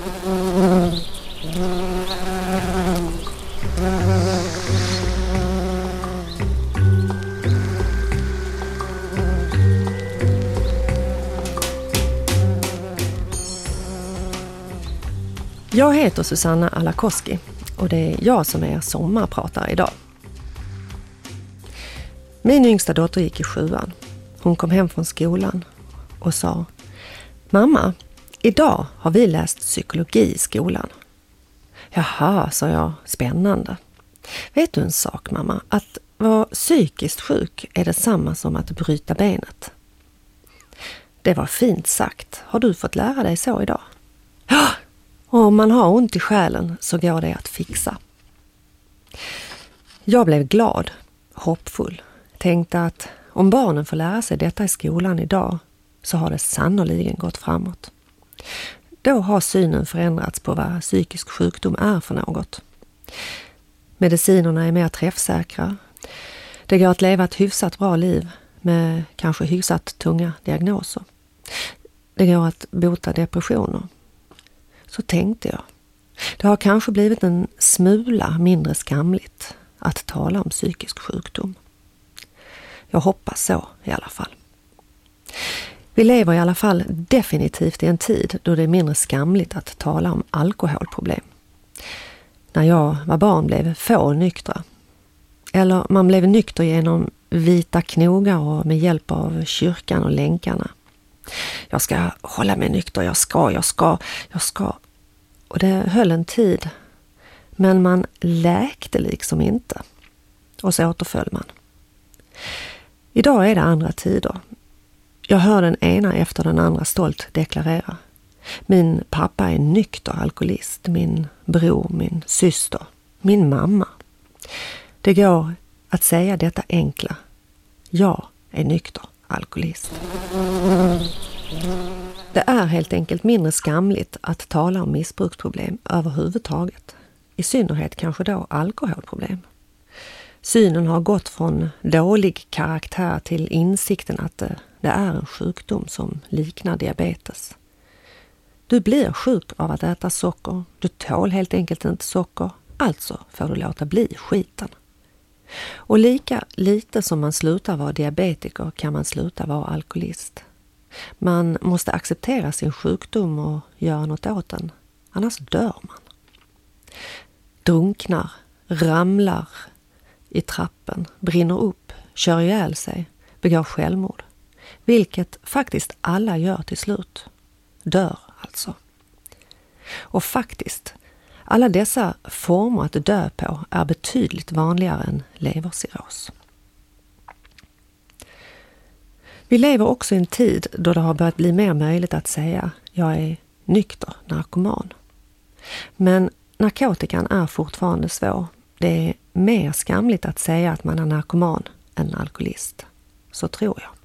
Jag heter Susanna Alakoski och det är jag som är sommarpratare idag. Min yngsta dotter gick i 7:an. Hon kom hem från skolan och sa: "Mamma, idag har vi läst psykologi i skolan." "Jaha", sa jag, "spännande. Vet du en sak, mamma? Att vara psykiskt sjuk är detsamma som att bryta benet." "Det var fint sagt. Har du fått lära dig så idag?" "Ja, om man har ont i själen så går det att fixa." Jag blev glad, hoppfull. Tänkte att om barnen får lära sig detta i skolan idag så har det sannoliken gått framåt. Då har synen förändrats på vad psykisk sjukdom är för något. Medicinerna är mer träffsäkra. Det går att leva ett hyfsat bra liv med kanske hyfsat tunga diagnoser. Det går att bota depressioner. Så tänkte jag. Det har kanske blivit en smula mindre skamligt att tala om psykisk sjukdom. Jag hoppas så i alla fall. Vi lever i alla fall definitivt i en tid då det är mindre skamligt att tala om alkoholproblem. När jag var barn blev få nyktra. Eller man blev nykter genom vita knogar och med hjälp av kyrkan och länkarna. Jag ska hålla mig nykter, jag ska. Och det höll en tid. Men man läkte liksom inte. Och så återföll man. Idag är det andra tider. Jag hör den ena efter den andra stolt deklarera: "Min pappa är nykter alkoholist, min bror, min syster, min mamma." Det går att säga detta enkla: "Jag är nykter alkoholist." Det är helt enkelt mindre skamligt att tala om missbruksproblem överhuvudtaget. I synnerhet kanske då alkoholproblem. Synen har gått från dålig karaktär till insikten att det är en sjukdom som liknar diabetes. Du blir sjuk av att äta socker. Du tål helt enkelt inte socker. Alltså får du låta bli skiten. Och lika lite som man slutar vara diabetiker kan man sluta vara alkoholist. Man måste acceptera sin sjukdom och göra något åt den. Annars dör man. Drunknar, ramlar i trappen, brinner upp, kör ihjäl sig, begår självmord. Vilket faktiskt alla gör till slut. Dör alltså. Och faktiskt, alla dessa former att dö på är betydligt vanligare än levercirros. Vi lever också i en tid då det har börjat bli mer möjligt att säga: "Jag är nykter narkoman." Men narkotikan är fortfarande svår. Det är mer skamligt att säga att man är narkoman än alkoholist. Så tror jag.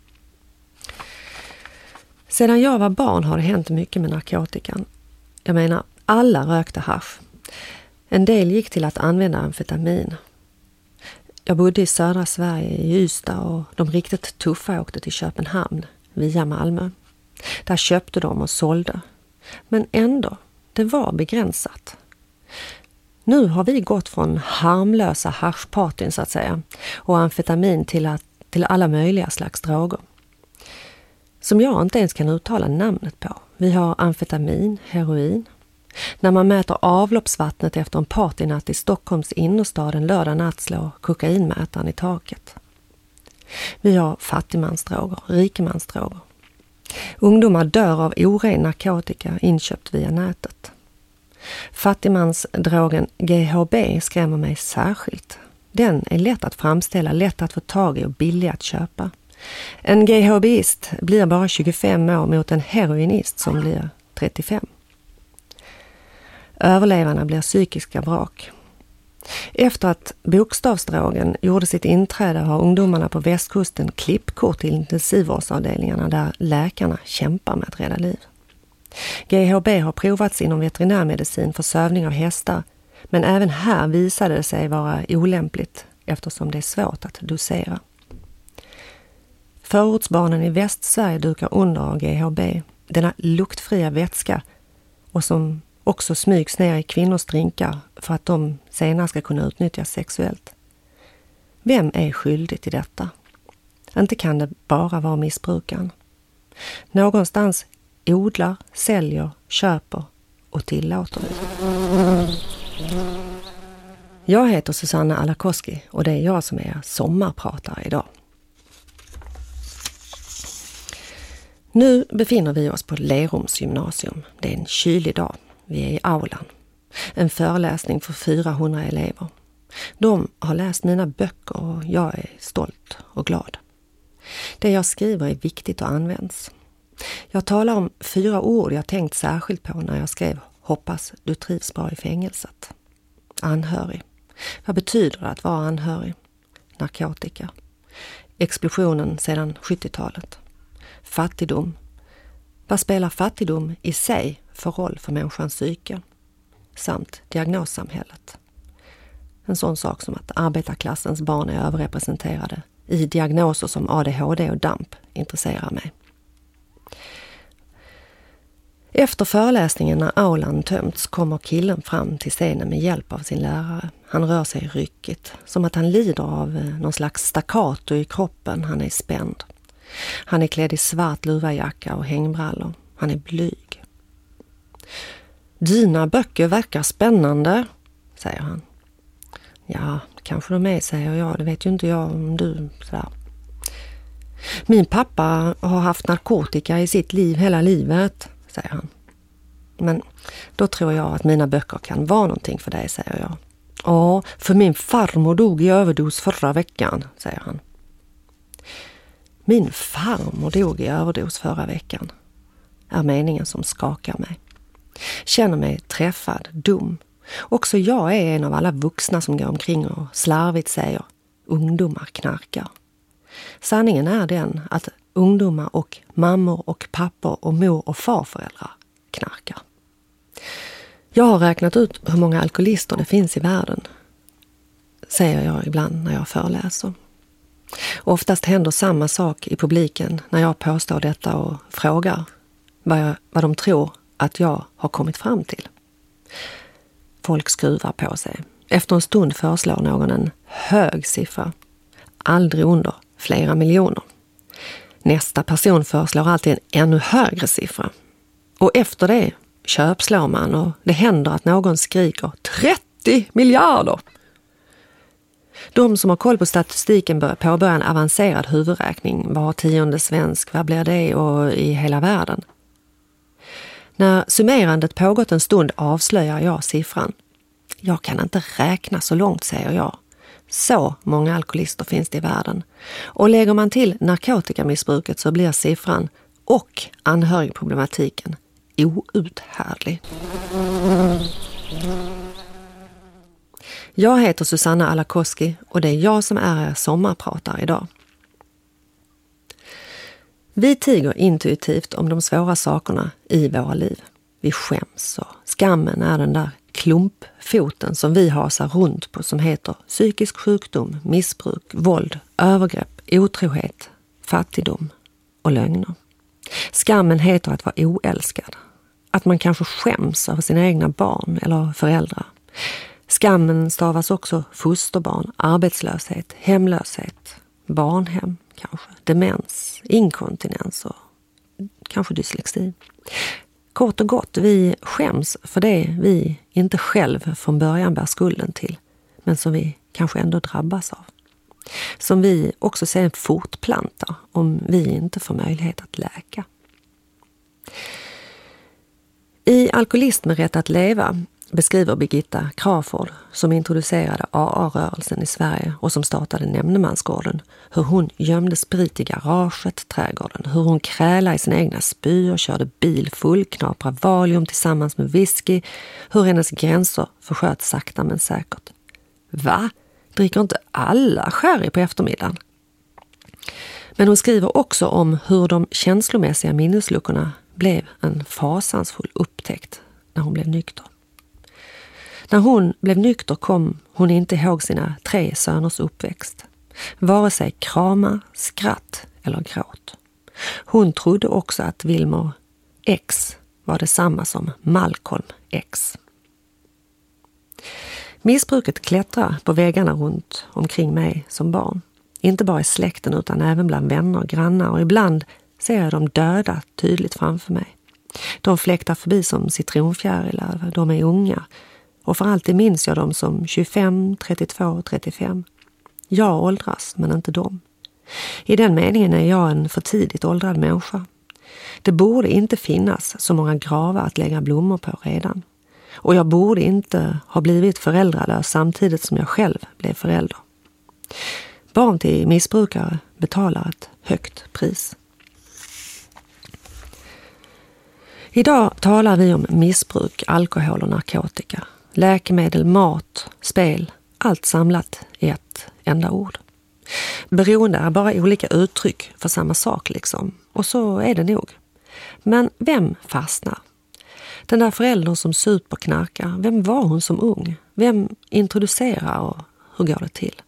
Sedan jag var barn har det hänt mycket med narkotikan. Jag menar, alla rökte hasch. En del gick till att använda amfetamin. Jag bodde i södra Sverige i Ystad och de riktigt tuffa åkte till Köpenhamn via Malmö. Där köpte de och sålde. Men ändå, det var begränsat. Nu har vi gått från harmlösa haschpartyn så att säga och amfetamin till alla möjliga slags droger. Som jag inte ens kan uttala namnet på. Vi har amfetamin, heroin. När man mäter avloppsvattnet efter en partynatt i Stockholms innerstad en lördag natt slår kokainmätaren i taket. Vi har fattigmansdroger, rikemansdroger. Ungdomar dör av oren narkotika inköpt via nätet. Fattigmansdrogen GHB skrämmer mig särskilt. Den är lätt att framställa, lätt att få tag i och billig att köpa. En GHBist blir bara 25 år mot en heroinist som blir 35. Överlevarna blir psykiska vrak. Efter att bokstavsdrogen gjorde sitt inträde har ungdomarna på västkusten klippkort till intensivvårdsavdelningarna där läkarna kämpar med att rädda liv. GHB har provats inom veterinärmedicin för sövning av hästar, men även här visade det sig vara olämpligt eftersom det är svårt att dosera. Förortsbarnen i Västsverige dukar under av GHB, denna luktfria vätska och som också smygs ner i kvinnors drinkar för att de senare ska kunna utnyttjas sexuellt. Vem är skyldig till detta? Inte kan det bara vara missbrukaren. Någonstans odlar, säljer, köper och tillåter det. Jag heter Susanna Alakoski och det är jag som är sommarpratare idag. Nu befinner vi oss på Lerums gymnasium. Det är en kylig dag. Vi är i aulan. En föreläsning för 400 elever. De har läst mina böcker och jag är stolt och glad. Det jag skriver är viktigt och används. Jag talar om 4 ord jag tänkt särskilt på när jag skrev "Hoppas du trivs bra i fängelset". Anhörig. Vad betyder det att vara anhörig? Narkotika. Explosionen sedan 70-talet. Fattigdom. Vad spelar fattigdom i sig för roll för människans psyke? Samt diagnossamhället. En sån sak som att arbetarklassens barn är överrepresenterade i diagnoser som ADHD och DAMP intresserar mig. Efter föreläsningen när aulan tömts kommer killen fram till scenen med hjälp av sin lärare. Han rör sig ryckigt, som att han lider av någon slags staccato i kroppen. Han är spänd. Han är klädd i svart luvajacka och hängbrallor. Han är blyg. "Dina böcker verkar spännande", säger han. "Ja, kanske de är", säger jag. "Det vet ju inte jag om du." Sådär. "Min pappa har haft narkotika i sitt liv hela livet", säger han. "Men då tror jag att mina böcker kan vara någonting för dig", säger jag. "Ja, för min farmor dog i överdos förra veckan", säger han. "Min farmor dog i överdos förra veckan", är meningen som skakar mig. Känner mig träffad, dum. Också jag är en av alla vuxna som går omkring och slarvigt säger "ungdomar knarkar". Sanningen är den att ungdomar och mammor och pappor och mor- och farföräldrar knarkar. Jag har räknat ut hur många alkoholister det finns i världen, säger jag ibland när jag föreläser. Och oftast händer samma sak i publiken när jag påstår detta och frågar vad de tror att jag har kommit fram till. Folk skruvar på sig. Efter en stund föreslår någon en hög siffra. Aldrig under flera miljoner. Nästa person föreslår alltid en ännu högre siffra. Och efter det köpslår man och det händer att någon skriker 30 miljarder! De som har koll på statistiken börjar påbörja en avancerad huvudräkning. Var 10:e svensk, vad blir det och i hela världen? När summerandet pågått en stund avslöjar jag siffran. Jag kan inte räkna så långt, säger jag. Så många alkoholister finns det i världen. Och lägger man till narkotikamissbruket så blir siffran och anhörigproblematiken outhärdlig. Jag heter Susanna Alakoski och det är jag som är sommarpratare idag. Vi tiger intuitivt om de svåra sakerna i våra liv. Vi skäms och skammen är den där klumpfoten som vi hasar runt på som heter psykisk sjukdom, missbruk, våld, övergrepp, otrohet, fattigdom och lögner. Skammen heter att vara oälskad. Att man kanske skäms över sina egna barn eller föräldrar. Skammen stavas också fosterbarn, arbetslöshet, hemlöshet, barnhem kanske, demens, inkontinens och kanske dyslexi. Kort och gott, vi skäms för det vi inte själv från början bär skulden till, men som vi kanske ändå drabbas av. Som vi också sen fortplantar om vi inte får möjlighet att läka. I Alkoholist med rätt att leva beskriver Birgitta Crawford, som introducerade AA-rörelsen i Sverige och som startade Nämndemansgården, hur hon gömde sprit i garaget, trädgården, hur hon krälade i sina egna spyor, körde bil full, knaprade valium tillsammans med whisky, hur hennes gränser försköt sakta men säkert. Va? Dricker inte alla sherry på eftermiddagen? Men hon skriver också om hur de känslomässiga minnesluckorna blev en fasansfull upptäckt när hon blev nykter. När hon blev nykter kom hon inte ihåg sina 3 söners uppväxt. Vare sig krama, skratt eller gråt. Hon trodde också att Wilmer X var detsamma som Malcolm ex. Missbruket klättrar på väggarna runt omkring mig som barn. Inte bara i släkten utan även bland vänner och grannar, och ibland ser jag dem döda tydligt framför mig. De fläktar förbi som citronfjärilar, de är unga, och för alltid minns jag dem som 25, 32, 35. Jag åldras, men inte de. I den meningen är jag en för tidigt åldrad människa. Det borde inte finnas så många gravar att lägga blommor på redan. Och jag borde inte ha blivit föräldralös samtidigt som jag själv blev förälder. Barn till missbrukare betalar ett högt pris. Idag talar vi om missbruk, alkohol och narkotika, läkemedel, mat, spel, allt samlat i ett enda ord. Beroende är bara olika uttryck för samma sak liksom, och så är det nog. Men vem fastnar? Den där föräldern som superknarkar, vem var hon som ung? Vem introducerar och hur går det till?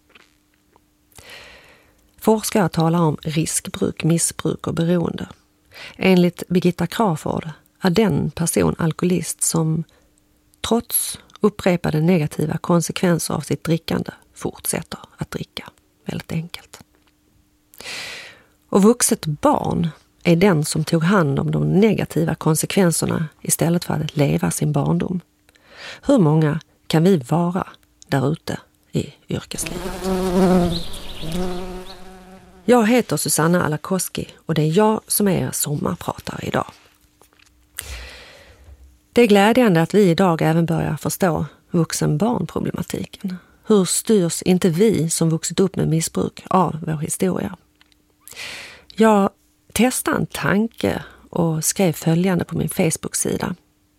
Forskare talar om riskbruk, missbruk och beroende. Enligt Birgitta Crawford är den person alkoholist som trots upprepade negativa konsekvenser av sitt drickande fortsätter att dricka. Väldigt enkelt. Och vuxet barn är den som tog hand om de negativa konsekvenserna istället för att leva sin barndom. Hur många kan vi vara där ute i yrkeslivet? Jag heter Susanna Alakoski och det är jag som är er sommarpratare idag. Det är glädjande att vi idag även börjar förstå vuxen-barnproblematiken. Hur styrs inte vi som vuxit upp med missbruk av vår historia? Jag testade en tanke och skrev följande på min Facebook-sida.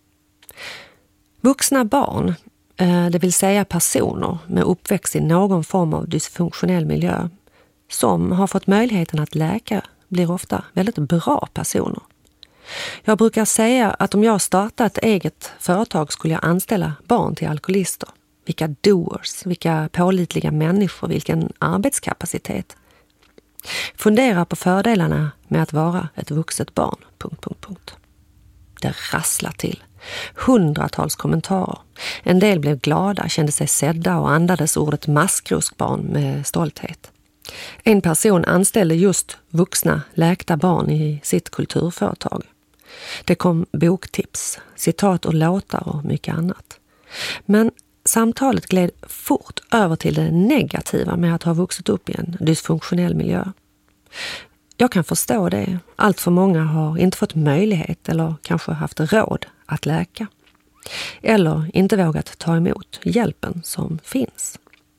Vuxna barn, det vill säga personer med uppväxt i någon form av dysfunktionell miljö, som har fått möjligheten att läka, blir ofta väldigt bra personer. Jag brukar säga att om jag startar ett eget företag skulle jag anställa barn till alkoholister. Vilka doers, vilka pålitliga människor, vilken arbetskapacitet. Fundera på fördelarna med att vara ett vuxet barn. ... Det rasslar till. Hundratals kommentarer. En del blev glada, kände sig sedda och andades ordet maskroskbarn med stolthet. En person anställde just vuxna läkta barn i sitt kulturföretag. Det kom boktips, citat och låtar och mycket annat. Men samtalet gled fort över till det negativa med att ha vuxit upp i en dysfunktionell miljö. Jag kan förstå det. Allt för många har inte fått möjlighet eller kanske haft råd att läka. Eller inte vågat ta emot hjälpen som finns.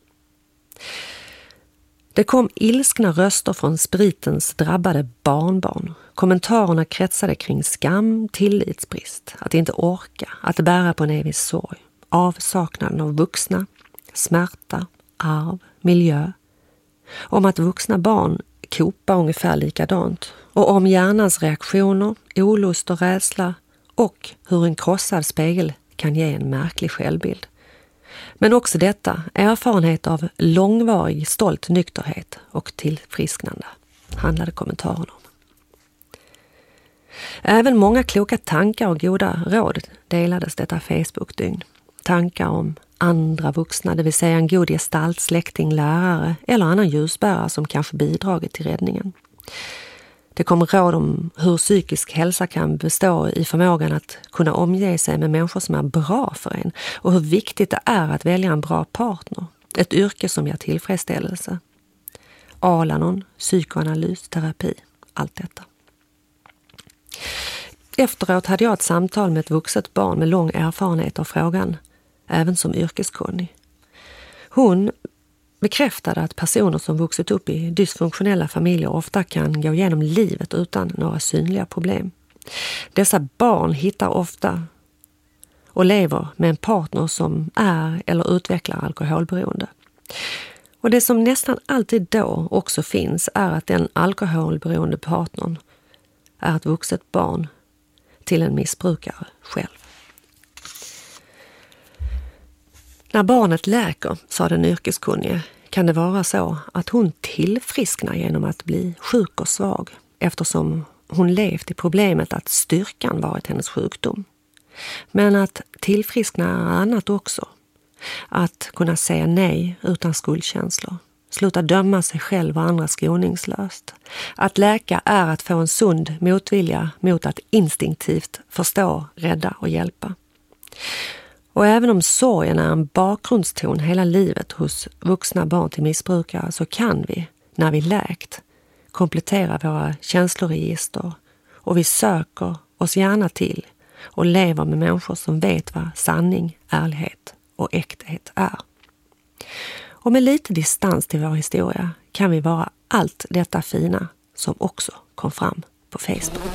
Det kom ilskna röster från spritens drabbade barnbarn. Kommentarerna kretsade kring skam, tillitsbrist, att inte orka, att bära på en evig sorg, avsaknaden av vuxna, smärta, arv, miljö. Om att vuxna barn kopar ungefär likadant och om hjärnans reaktioner, olust och rädsla och hur en krossad spegel kan ge en märklig självbild. Men också detta, erfarenhet av långvarig stolt nykterhet och tillfrisknande, handlade kommentaren om. Även många kloka tankar och goda råd delades detta Facebook-dygn. Tankar om andra vuxna, det vill säga en god gestalt, släkting, lärare eller annan ljusbärare som kanske bidragit till räddningen. Det kom råd om hur psykisk hälsa kan bestå i förmågan att kunna omge sig med människor som är bra för en och hur viktigt det är att välja en bra partner, ett yrke som ger tillfredsställelse. Alanon, psykoanalys, terapi, allt detta. Efteråt hade jag ett samtal med ett vuxet barn med lång erfarenhet av frågan, även som yrkeskunnig. Hon bekräftade att personer som vuxit upp i dysfunktionella familjer ofta kan gå igenom livet utan några synliga problem. Dessa barn hittar ofta och lever med en partner som är eller utvecklar alkoholberoende. Och det som nästan alltid då också finns är att den alkoholberoende partnern är ett vuxet barn till en missbrukare själv. När barnet läker, sa den yrkeskunnige, kan det vara så att hon tillfrisknar genom att bli sjuk och svag eftersom hon levt i problemet att styrkan varit hennes sjukdom. Men att tillfriskna är annat också. Att kunna säga nej utan skuldkänslor. Sluta döma sig själv och andra skoningslöst. Att läka är att få en sund motvilja mot att instinktivt förstå, rädda och hjälpa. Och även om sorgen är en bakgrundston hela livet hos vuxna barn till missbrukare, så kan vi, när vi läkt, komplettera våra känsloregister, och vi söker oss gärna till och lever med människor som vet vad sanning, ärlighet och äkthet är. Och med lite distans till vår historia kan vi vara allt detta fina som också kom fram på Facebook.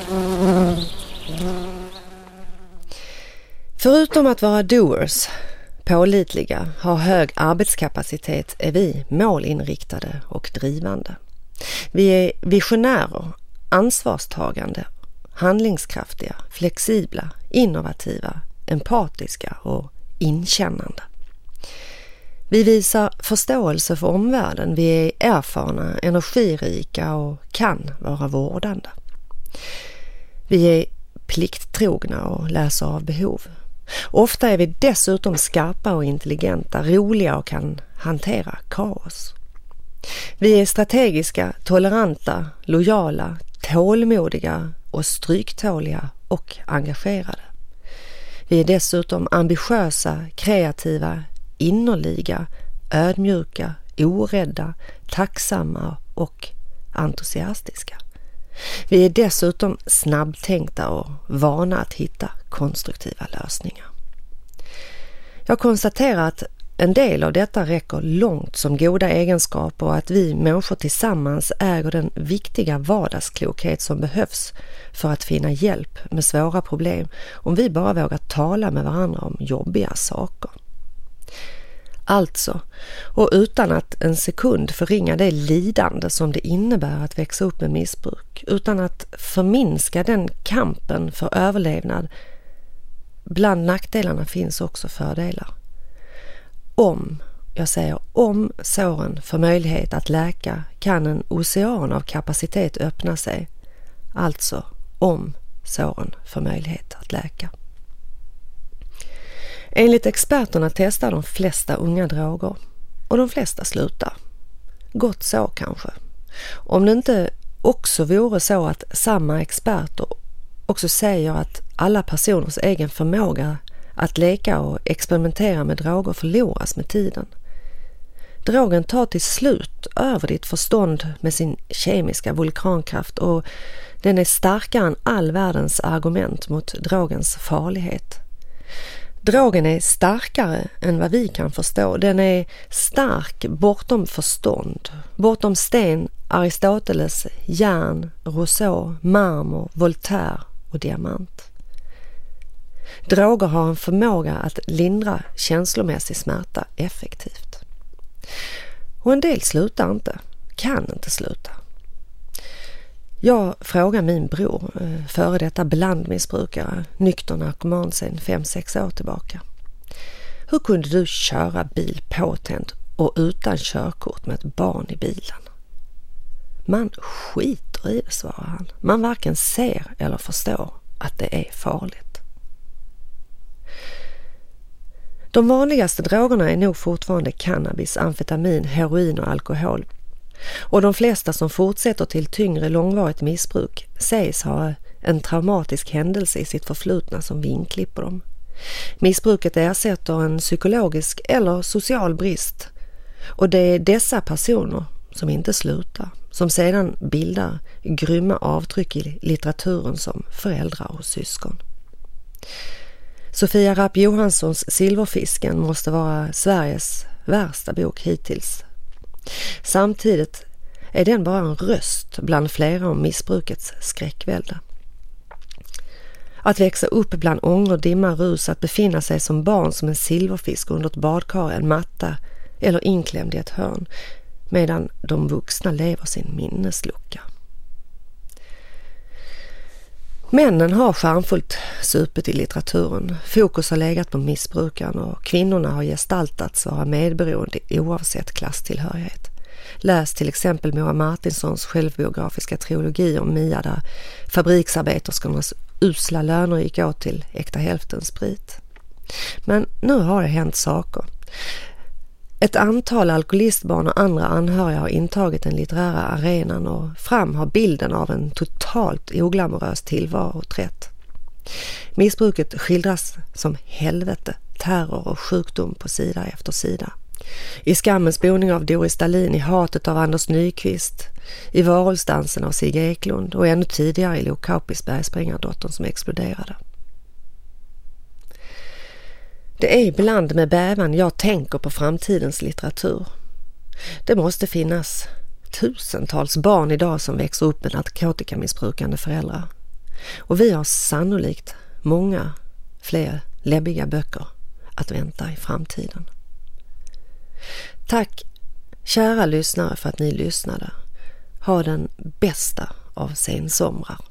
Förutom att vara doers, pålitliga, ha hög arbetskapacitet, är vi målinriktade och drivande. Vi är visionärer, ansvarstagande, handlingskraftiga, flexibla, innovativa, empatiska och inkännande. Vi visar förståelse för omvärlden, vi är erfarna, energirika och kan vara vårdande. Vi är plikttrogna och läser av behov. Ofta är vi dessutom skarpa och intelligenta, roliga och kan hantera kaos. Vi är strategiska, toleranta, lojala, tålmodiga och stryktåliga och engagerade. Vi är dessutom ambitiösa, kreativa, innerliga, ödmjuka, orädda, tacksamma och entusiastiska. Vi är dessutom snabbtänkta och vana att hitta konstruktiva lösningar. Jag konstaterar att en del av detta räcker långt som goda egenskaper och att vi människor tillsammans äger den viktiga vardagsklokhet som behövs för att finna hjälp med svåra problem, om vi bara vågar tala med varandra om jobbiga saker. Alltså, och utan att en sekund förringa det lidande som det innebär att växa upp med missbruk, utan att förminska den kampen för överlevnad, bland nackdelarna finns också fördelar. Om såren får möjlighet att läka, kan en ocean av kapacitet öppna sig. Alltså, om såren får möjlighet att läka. Enligt experterna testar de flesta unga droger och de flesta slutar. Gott så kanske. Om det inte också vore så att samma experter också säger att alla personers egen förmåga att leka och experimentera med droger förloras med tiden. Drogen tar till slut över ditt förstånd med sin kemiska vulkankraft, och den är starkare än all världens argument mot drogens farlighet. Drogen är starkare än vad vi kan förstå. Den är stark bortom förstånd, bortom sten, Aristoteles, järn, Rousseau, marmor, Voltaire och diamant. Droger har en förmåga att lindra känslomässig smärta effektivt. Och en del slutar inte, kan inte sluta. Jag frågar min bror, före detta blandmissbrukare, nykter narkoman sedan 5-6 år tillbaka. Hur kunde du köra bil påtänd och utan körkort med ett barn i bilen? Man skiter i det, svarar han. Man varken ser eller förstår att det är farligt. De vanligaste drogerna är nog fortfarande cannabis, amfetamin, heroin och alkohol. Och de flesta som fortsätter till tyngre långvarigt missbruk sägs ha en traumatisk händelse i sitt förflutna som vinklipper dem. Missbruket ersätter en psykologisk eller social brist, och det är dessa personer som inte slutar, som sedan bildar grymma avtryck i litteraturen som föräldrar och syskon. Sofia Rapp Johanssons Silverfisken måste vara Sveriges värsta bok hittills. Samtidigt är den bara en röst bland flera om missbrukets skräckvälde. Att växa upp bland ångor, dimma, rus, att befinna sig som barn som en silverfisk under ett badkar, en matta eller inklämd i ett hörn, medan de vuxna lever sin minneslucka. Männen har charmfullt supet i litteraturen. Fokus har legat på missbrukaren och kvinnorna har gestaltats vara medberoende oavsett klasstillhörighet. Läs till exempel Moa Martinssons självbiografiska trilogi om Mia, där fabriksarbeterskornas usla löner gick åt till äkta hälften sprit. Men nu har det hänt saker. Ett antal alkoholistbarn och andra anhöriga har intagit den litterära arenan och fram har bilden av en totalt oglamorös tillvaro trätt. Missbruket skildras som helvete, terror och sjukdom på sida efter sida. I Skammens boning av Doris Dahlin, i Hatet av Anders Nyqvist, i Varulvsdansen av Sigge Eklund och ännu tidigare i Lo Kaupis Bergsprängardottern som exploderade. Det är ibland med bävan jag tänker på framtidens litteratur. Det måste finnas tusentals barn idag som växer upp med narkotikamissbrukande föräldrar. Och vi har sannolikt många fler läbbiga böcker att vänta i framtiden. Tack kära lyssnare för att ni lyssnade. Ha den bästa av sensomrar.